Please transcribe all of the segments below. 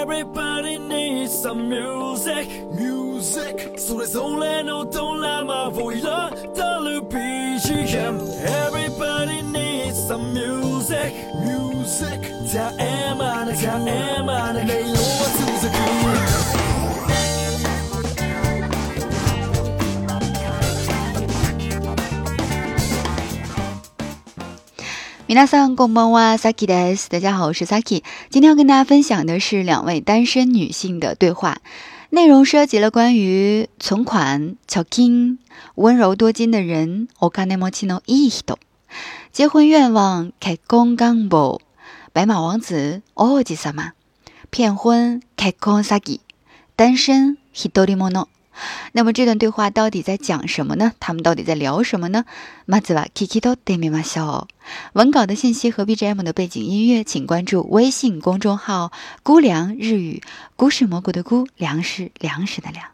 Everybody needs some music Music それぞれのドラマを彩る BGM Everybody needs some music Music 絶え間なく絶え間なく音色は続く皆さんこんばんは Saki です。大家好，我是 Saki。今天要跟大家分享的是两位单身女性的对话，内容涉及了关于存款、貯金、温柔多金的人、お金持ちのいい人、结婚願望、結婚願望、白马王子、王子様、骗婚、結婚詐欺、单身、一人者。那么这段对话到底在讲什么呢？他们到底在聊什么呢？まずは聞き取ってみましょう。文稿的信息和 BGM 的背景音乐，请关注微信公众号“姑凉日语”，菇是蘑菇的菇，粮食粮食的粮。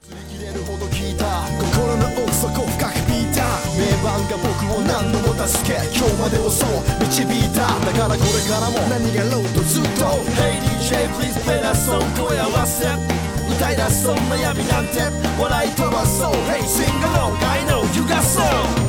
名盤が僕を何度も助け今日までをそう導いただからこれからも何がろうとずっと Hey DJ please play that song 声合わせ歌い出そう悩みなんて笑い飛ばそう Hey sing along I know you got soul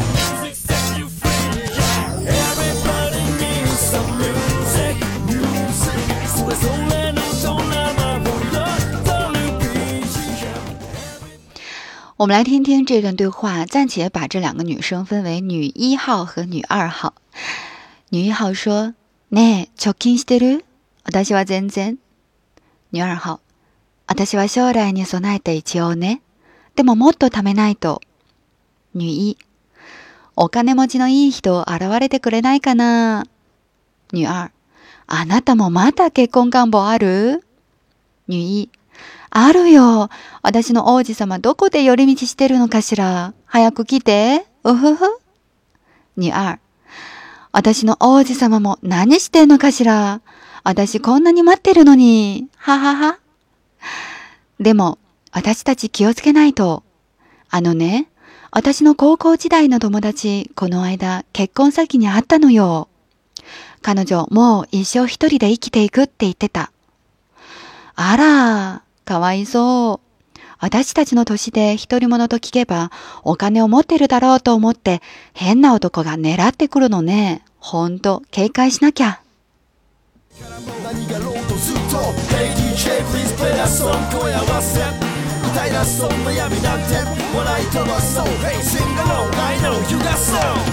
Everybody needs some music Music それぞれのドラマを彩る BGM 我们来听听这段对话，暂且把这两个女生分为女1号和女2号。女1号说：“ねえ、貯金してる？私は全然。”女2号：“私は将来に備えて一応ね。でももっと貯めないと。”女1：“お金持ちのいい人現れてくれないかな？”女2：“あなたもまだ結婚願望ある？”女1：あるよ。私の王子様どこで寄り道してるのかしら。早く来て。うふふ。女2：私の王子様も何してんのかしら。私こんなに待ってるのに。ははは。でも、私たち気をつけないと。ね、私の高校時代の友達、この間結婚先に会ったのよ。彼女、もう一生一人で生きていくって言ってた。あら、かわいそう。私たちの年で一人者と聞けばお金を持ってるだろうと思って変な男が狙ってくるのね。ほんと警戒しなきゃ。何がろうとずっと Hey DJ please play that song 声合わせ歌い出そう悩みなんて笑い飛ばそう Hey sing along I know you got soul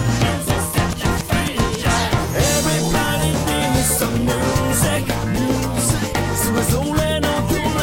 Everybody needs some music Music それぞれの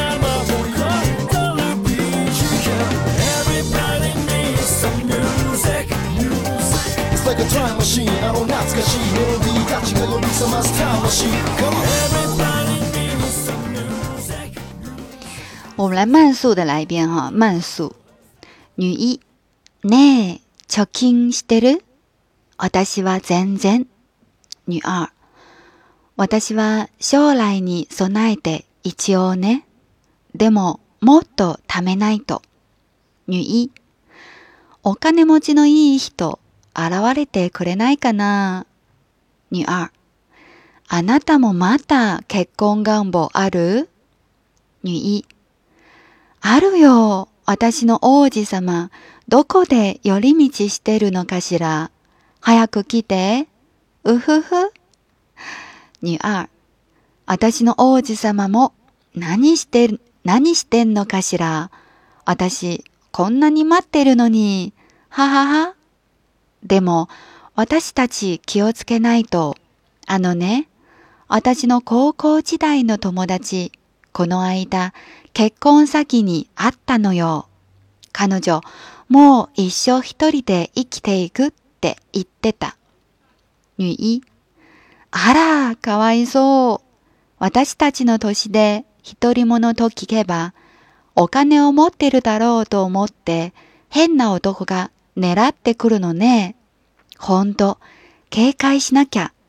Like a time machine あの懐かしいメロディーたちが呼び覚ます魂 Everybody needs some music 我们来慢速的来一遍哈，慢速。女1：ねえ、貯金してる？私は全然。女2：私は将来に備えて一応ね。でももっと貯めないと。女1：お金持ちのいい人現れてくれないかな。女2：あなたもまた結婚願望ある？女1：あるよ。私の王子様、どこで寄り道してるのかしら。早く来て。うふふ。女2：私の王子様も何してんのかしら。私、こんなに待ってるのに。ははは。でも、私たち気をつけないと。ね、私の高校時代の友達、この間、結婚先に会ったのよ。彼女、もう一生一人で生きていくって言ってた。女1：あら、かわいそう。私たちの年で一人者と聞けば、お金を持ってるだろうと思って、変な男が狙ってくるのね。ほんと、警戒しなきゃ。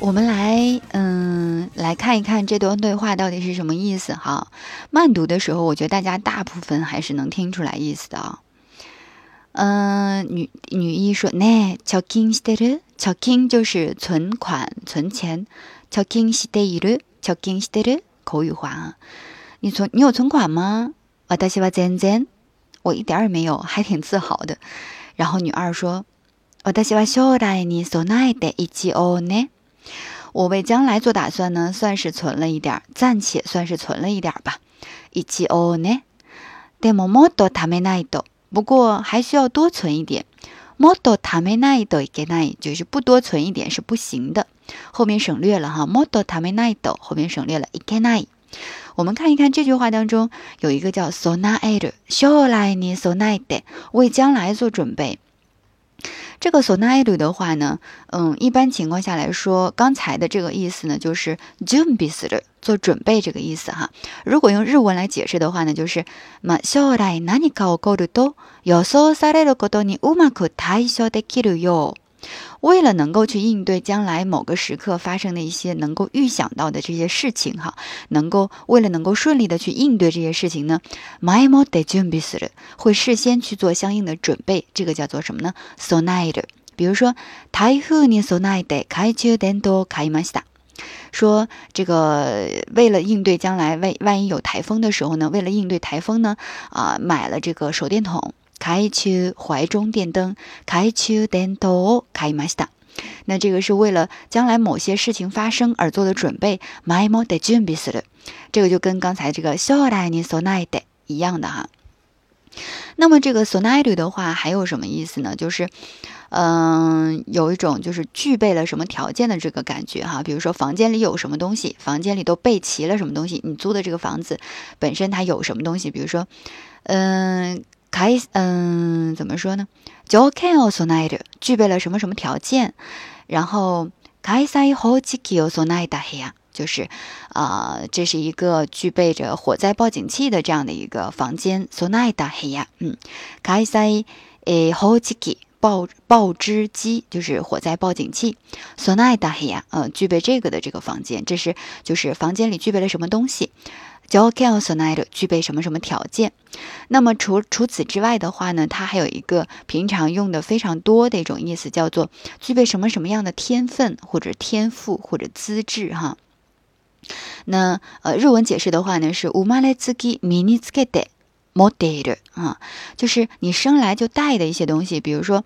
我们来看一看这段对话到底是什么意思哈。慢读的时候，我觉得大家大部分还是能听出来意思的啊。女一说呢，貯金してる，貯金就是存款、存钱，貯金している，貯金してる口语化啊。你有存款吗？私は全然，我一点也没有，还挺自豪的。然后女二说，私は将来に備えて一応ね。我为将来做打算呢，算是存了一点，暂且算是存了一点吧。一応ね。でももっと貯めないと。不过还需要多存一点。もっと貯めないといけない，就是不多存一点是不行的。后面省略了哈，もっと貯めないと后面省略了いけない。我们看一看这句话当中有一个叫備える，将来に備えて，为将来做准备。这个備える的话呢，一般情况下来说，刚才的这个意思呢，就是準備する，做准备这个意思哈。如果用日文来解释的话呢，就是将来何か起こると予想されることにうまく対処できるよう。为了能够去应对将来某个时刻发生的一些能够预想到的这些事情哈，为了能够顺利的去应对这些事情呢，前もって準備する，会事先去做相应的准备，这个叫做什么呢？備える。比如说，台風に備えて懐中電灯を買いました。说这个为了应对将来万一有台风的时候呢，为了应对台风呢，买了这个手电筒。懐中怀中电灯，懐中電灯を買いました。那这个是为了将来某些事情发生而做的准备。前もって準備する，这个就跟刚才这个将来に備えて一样的哈。那么这个備える的话还有什么意思呢？就是有一种就是具备了什么条件的这个感觉哈。比如说房间里有什么东西，房间里都备齐了什么东西，你租的这个房子本身它有什么东西，比如说怎么说呢？条件を備える，具备了什么什么条件。然后火災報知器を備えた部屋，就是这是一个具备着火灾报警器的这样的一个房间。備えた部屋，火災報知器。报知机就是火灾报警器。備えた部屋，具备这个的这个房间，这是就是房间里具备了什么东西。条件を備える，具备什么什么条件。那么除此之外的话呢，它还有一个平常用的非常多的一种意思，叫做具备什么什么样的天分或者天赋或者资质哈。那日文解释的话呢是生まれつき身につけて持っている啊，就是你生来就带的一些东西。比如说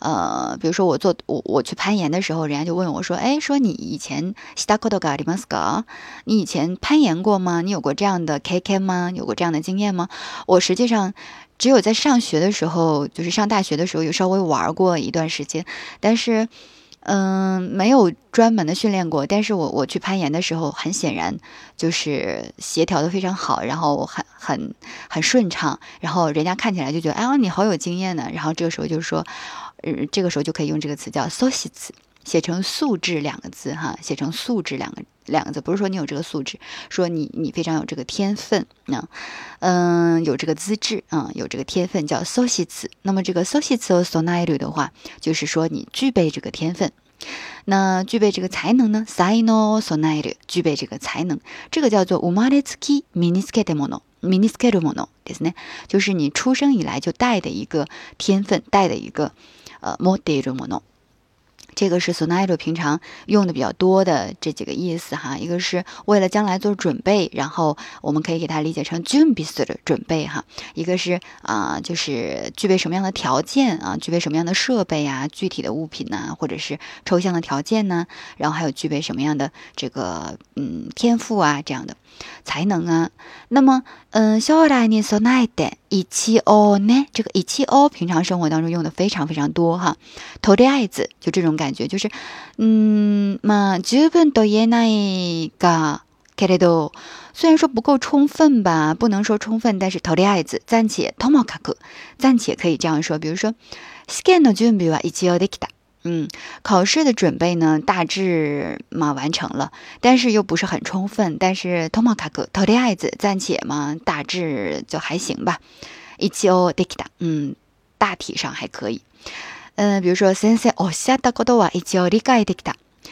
我去攀岩的时候，人家就问我说，说你以前したことがありますか？你以前攀岩过吗？你有过这样的経験吗？有过这样的经验吗？我实际上只有在上学的时候，就是上大学的时候有稍微玩过一段时间，但是没有专门的训练过。但是我去攀岩的时候，很显然就是协调的非常好，然后很顺畅，然后人家看起来就觉得你好有经验呢。然后这个时候就说，这个时候就可以用这个词叫素質，写成素质两个字哈，写成素质两个字，不是说你有这个素质，说你非常有这个天分有这个资质有这个天分叫素質。那么这个素質を備える的话，就是说你具备这个天分。那具备这个才能呢？才能を備える，具备这个才能，这个叫做生まれつき身につけたもの。身につけるものですね，就是你出生以来就带的一个天分，带的一个持っているもの。这个是備える平常用的比较多的这几个意思哈。一个是为了将来做准备，然後我们可以给它理解成準備する准备哈。一个是就是具备什么样的条件具备什么样的设备具体的物品或者是抽象的条件呢？然后还有具备什么样的这个天赋这样的才能那么将来に備えて一応ね，这个一応平常生活当中用的非常非常多哈。とりあえず就这种感觉，就是十分と言えないがけれど，虽然说不够充分吧，不能说充分，但是とりあえず暂且ともかく暂且可以这样说。比如说試験の準備は一応できた。考试的准备呢大致完成了，但是又不是很充分。但是ともかくとりあえず暂且大致就还行吧。一応できた，大体上还可以。比如说先生おっしゃったことは一応理解できた。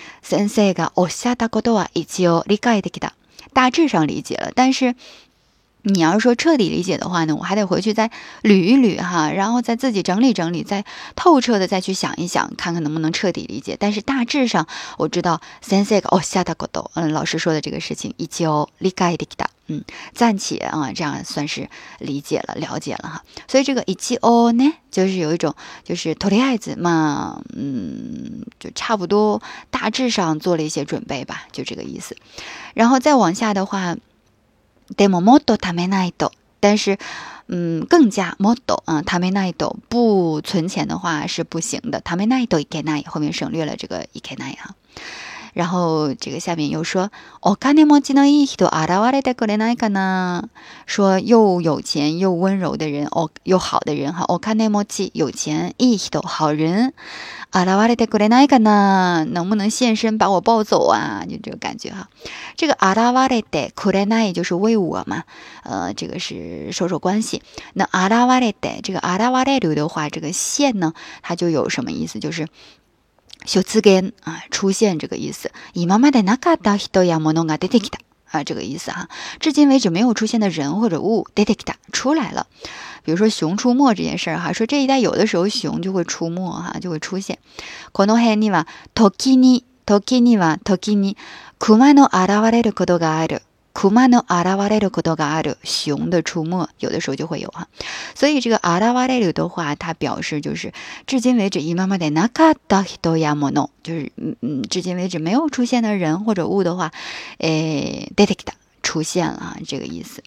先生がおっしゃったことは一応理解できた。大致上理解了，但是你要是说彻底理解的话呢，我还得回去再捋一捋哈，然后再自己整理整理，再透彻的再去想一想，看看能不能彻底理解。但是大致上我知道先生がおっしゃったこと，老师说的这个事情一応理解できた，暂且啊，这样算是理解了、了解了哈。所以这个一応呢，就是有一种就是とりあえず嘛，就差不多大致上做了一些准备吧，就这个意思。然后再往下的话。でももっと貯めないと，但是更加もっと貯めないと不存钱的话是不行的。貯めないといけない后面省略了这个いけない哈。然后这个下面又说お金持ちのいい人現れてくれないかな，说又有钱又温柔的人又好的人哈。お金持ち有钱，いい人好人。現れてくれないかな，能不能现身把我抱走啊？就这个感觉哈。这个現れてくれない就是为我嘛，这个是授受关系。那現れて这个現れる的话，这个现呢，它就有什么意思？就是出現啊，出现这个意思。今までなかった人や物が出てきた啊，这个意思哈。至今为止没有出现的人或者物，出てきた出来了。比如说熊出没这件事儿哈，说这一带有的时候熊就会出没哈，就会出现。この辺には時に熊の現れることがある。熊の現れることがある，熊的出没有的时候就会有哈。所以这个現れる的话，它表示就是至今为止今までなかった人や物，就是至今为止没有出现的人或者物的话，出てきた出现了这个意思。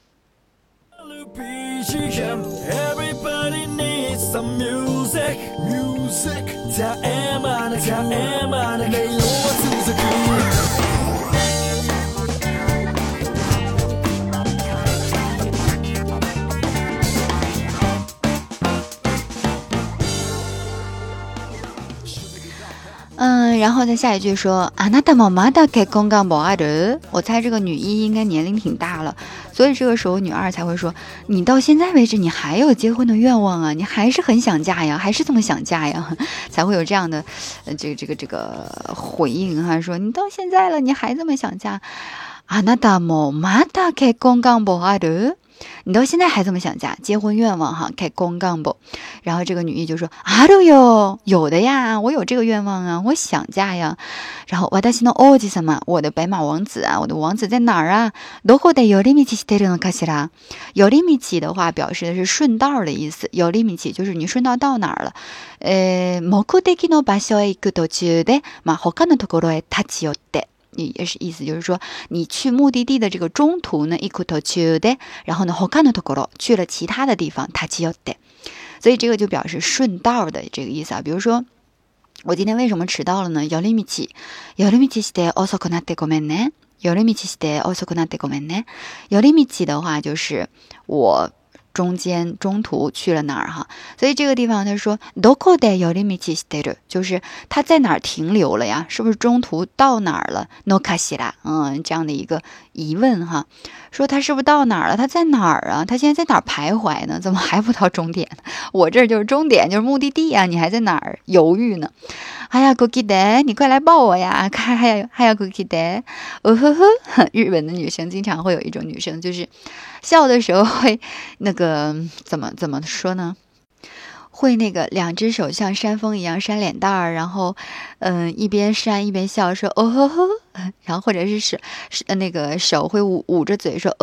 Everybody needs some music. 嗯，然后再下一句说，あなたもまだ結婚願望ある？我猜这个女一应该年龄挺大了，所以这个时候女二才会说，你到现在为止你还有结婚的愿望啊，你还是很想嫁呀，还是这么想嫁呀，才会有这样的这个回应哈，说你到现在了，你还这么想嫁。あなたもまだ結婚願望ある？你到现在还这么想嫁，结婚愿望哈，結婚願望。然后这个女一就说あるよ，有的呀，我有这个愿望啊，我想嫁呀。然后私の王子様，我的白马王子啊，我的王子在哪儿啊？どこで寄り道してるのかしら？寄り道的话表示的是顺道的意思，寄り道就是你顺道到哪儿了。目的の場所へ行く途中で、他のところへ立ち寄って。也是意思就是说你去目的地的这个中途呢，行く途中で，然後呢他のところ去了其他的地方，立ち寄って，所以这个就表示顺道的这个意思啊。比如说我今天为什么迟到了呢？寄り道して遅くなってごめんね。寄り道して遅くなってごめんね。寄り道的话就是我中途去了哪儿哈，所以这个地方他说どこで寄り道してる，就是他在哪儿停留了呀？是不是中途到哪儿了？のかしら，这样的一个疑问哈，说他是不是到哪儿了？他在哪儿啊？他现在在哪儿徘徊呢？怎么还不到终点？我这就是终点，就是目的地啊，你还在哪儿犹豫呢？早く来て，你快来抱我呀！早く来て，日本的女生经常会有一种女生，就是笑的时候会那个怎么说呢？会那个两只手像扇风一样扇脸蛋儿，然后一边扇一边笑说然后或者是那个手会捂着嘴说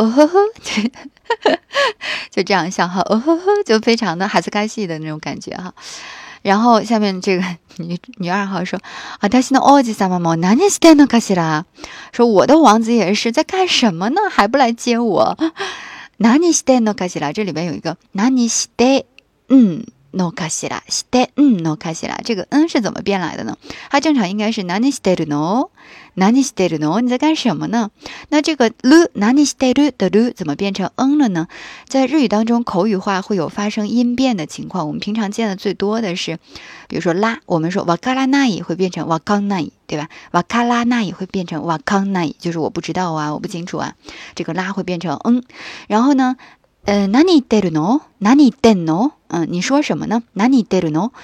就这样笑哈就非常的哈斯卡西的那种感觉哈。然后下面这个女二号说私の王子様も何してんのかしら，说我的王子也是在干什么呢？还不来接我？何してんのかしら，这里边有一个何してのかしら，してのかしら，这个是怎么变来的呢？它正常应该是何してるの？何してるの？你在干什么呢？那这个る何してる的る怎么变成了呢？在日语当中，口语化会有发生音变的情况。我们平常见的最多的是，比如说啦，我们说わからない会变成わかんない，对吧？わからない会变成わかんない，就是我不知道啊，我不清楚啊。这个啦会变成然后呢？何言ってるの？何言ってんの？你说什么呢？何言ってるの？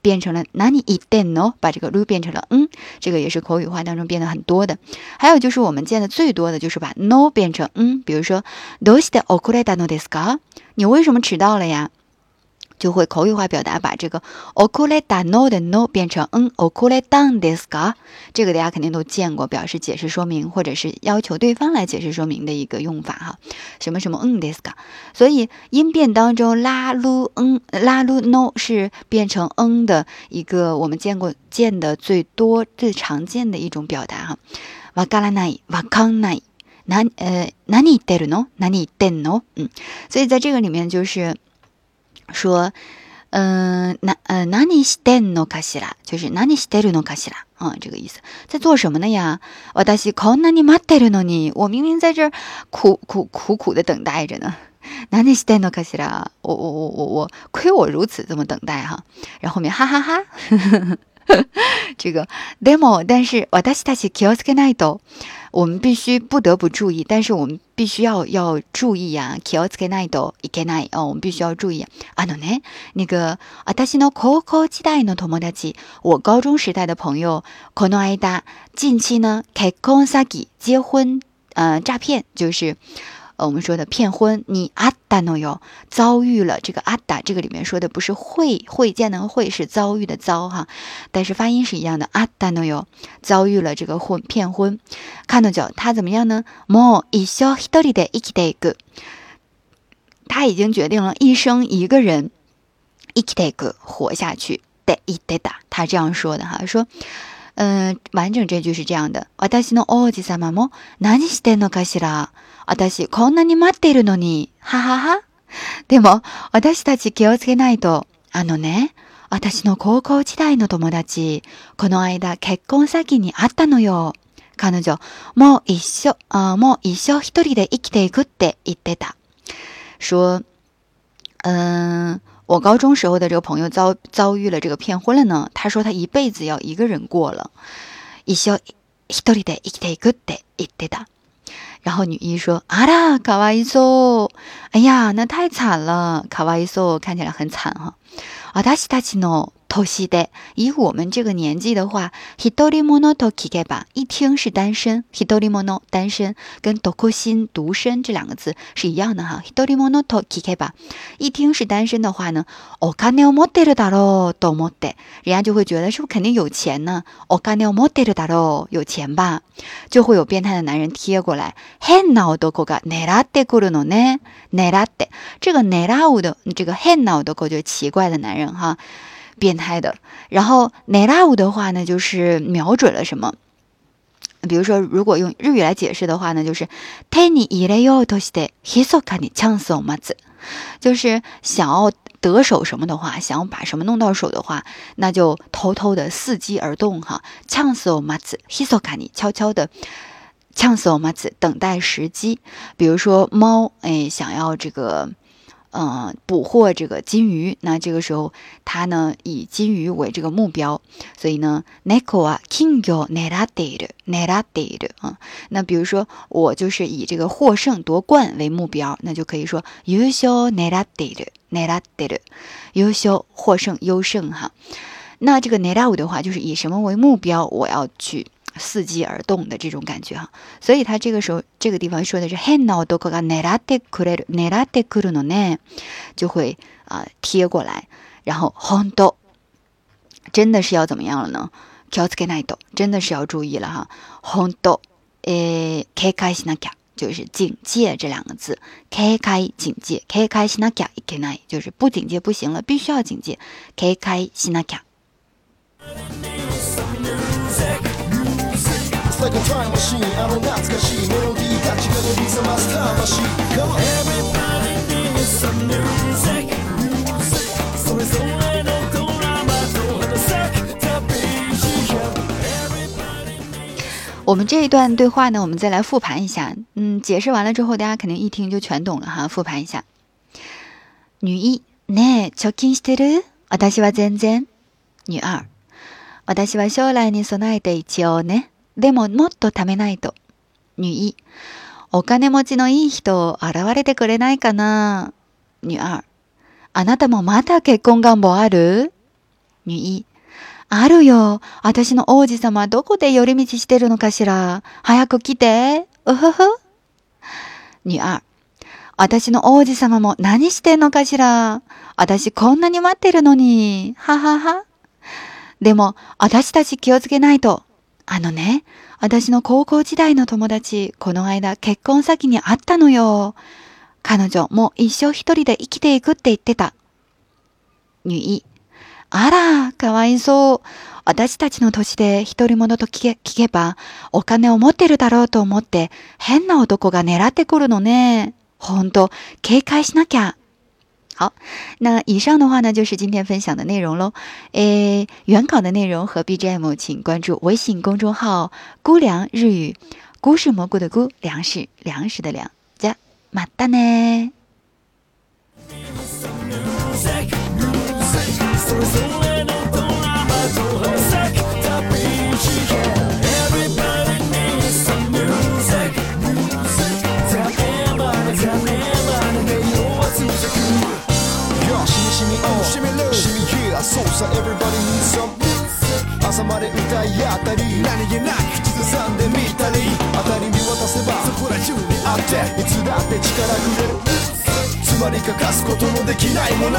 变成了何言ってんの，把这个る变成了这个也是口语化当中变得很多的。还有就是我们见的最多的就是把 no 变成比如说どうして遅れたのですか？你为什么迟到了呀？就会口语化表达，把这个遅れたの的 no 变成遅れたんですか？这个大家肯定都见过，表示解释说明或者是要求对方来解释说明的一个用法哈。什么什么ですか？所以音变当中拉噜拉噜 no 是变成的一个我们见的最多最常见的一种表达哈。わからないわかんない何言ってるの何言ってんの所以在这个里面就是说何してんのかしら，就是何してるのかしら这个意思，在做什么呢呀？私こんなに待ってるのに，我明明在这儿苦的等待着呢。何してんのかしら，我亏我如此这么等待哈，然后后面哈哈哈这个でも但是私たち気をつけないと。我们必须不得不注意，但是我们必须要注意呀。気をつけないといけない我们必须要注意。ね、那个私の高校時代の友達，我高中时代的朋友，この間近期呢結婚詐欺结婚诈骗，就是我们说的骗婚，你あったのよ，遭遇了这个あった，这个里面说的不是会见的会，是遭遇的遭哈，但是发音是一样的，あったのよ，遭遇了这个骗婚。彼女他怎么样呢？もう一生一人で生きていく，他已经决定了一生一个人生きていく活下去で言ってた，他这样说的哈，说完整这句是这样的。私の王子様も何してんのかしら。私こんなに待っているのに。ははは。でも私たち気をつけないと。ね、私の高校時代の友達、この間結婚詐欺にあったのよ。彼女もう一生一人で生きていくって言ってた。说我高中时候的这个朋友遭遇了这个骗婚了呢，他说他一辈子要一个人过了，一生一人で生きていくって言ってた。然后女一说あらかわいそう，哎呀那太惨了，かわいそう看起来很惨哈。私たちの年で，以我们这个年纪的话，一人者と聞けば，一听是单身，一人者单身，跟独身独身这两个字是一样的哈。一人者と聞けば，一听是单身的话呢，お金を持ってるだろうと思って，人家就会觉得是不是肯定有钱呢？お金を持ってるだろう，有钱吧？就会有变态的男人贴过来，変な男が狙ってくるのね。狙って，这个狙う的这个変な男就是奇怪的男人哈。变态的，然后狙う的话呢，就是瞄准了什么。比如说，如果用日语来解释的话呢，就是手に入れようとして密かにチャンスを待つ，就是想要得手什么的话，想要把什么弄到手的话，那就偷偷的伺机而动哈。チャンスを待つ，密かに悄悄的。チャンスを待つ，等待时机。比如说猫，想要这个。捕获这个金鱼，那这个时候它呢以金鱼为这个目標，所以呢猫は金魚を狙っている那比如说我就是以这个获胜夺冠为目標，那就可以说優勝狙っている優勝获胜優勝哈。那这个狙う的话就是以什么为目標，我要去伺機而動的这种感觉哈，所以他这个时候这个地方说的是変な男が狙ってくるのね，就会贴过来，然后本当真的是要怎么样了呢？気をつけないと真的是要注意了哈。本当警戒しなきゃ就是警戒这两个字，警戒警戒，警戒しなきゃいけない就是不警戒不行了，必须要警戒，警戒しなきゃ。 Like a time machine, 懐かしいメロディーたちが呼び覚ます魂。Come on, everybody needs some music. それぞれのドラマと花咲くた BGM。 我们这一段对话呢，我们再来复盘一下。解释完了之后，大家肯定一听就全懂了哈。复盘一下。女一，ねえ、貯金してる？私は全然。女二，私は将来に備えて一応ね。でももっと貯めないと。女一、お金持ちのいい人現れてくれないかな。女二、あなたもまだ結婚願望ある？ 女一、あるよ。私の王子様どこで寄り道してるのかしら。早く来て。うふふ。女二、私の王子様も何してんのかしら。私こんなに待ってるのに。ははは。でも、私たち気をつけないと。私の高校時代の友達、この間結婚先に会ったのよ。彼女もう一生一人で生きていくって言ってた。女一、あら、かわいそう。私たちの年で一人者と聞けば、お金を持ってるだろうと思って、変な男が狙ってくるのね。ほんと、警戒しなきゃ。好，那以上的话呢，就是今天分享的内容喽。原稿的内容和 BGM， 请关注微信公众号“菇凉日语”，菇是蘑菇的菇，粮食粮食的粮。じゃ、またね。 そうさ Everybody needs some music 朝まで歌い合ったり何気なく口ずさんでみたり当たり見渡せばそこら中にあっていつだって力くれるつまり欠かすことのできないもの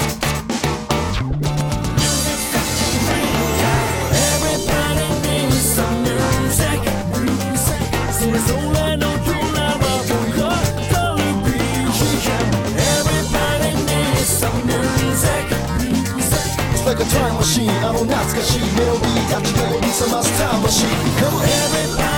Everybody needs some music それぞれのドラマを語る BGM Everybody needs some music Like a time machine 懐かしいメロディーたちが呼び覚ます魂 Come on everybody